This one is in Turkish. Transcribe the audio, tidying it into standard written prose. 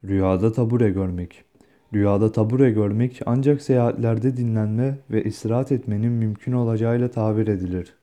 Rüyada tabure görmek. Rüyada tabure görmek ancak seyahatlerde dinlenme ve istirahat etmenin mümkün olacağıyla tabir edilir.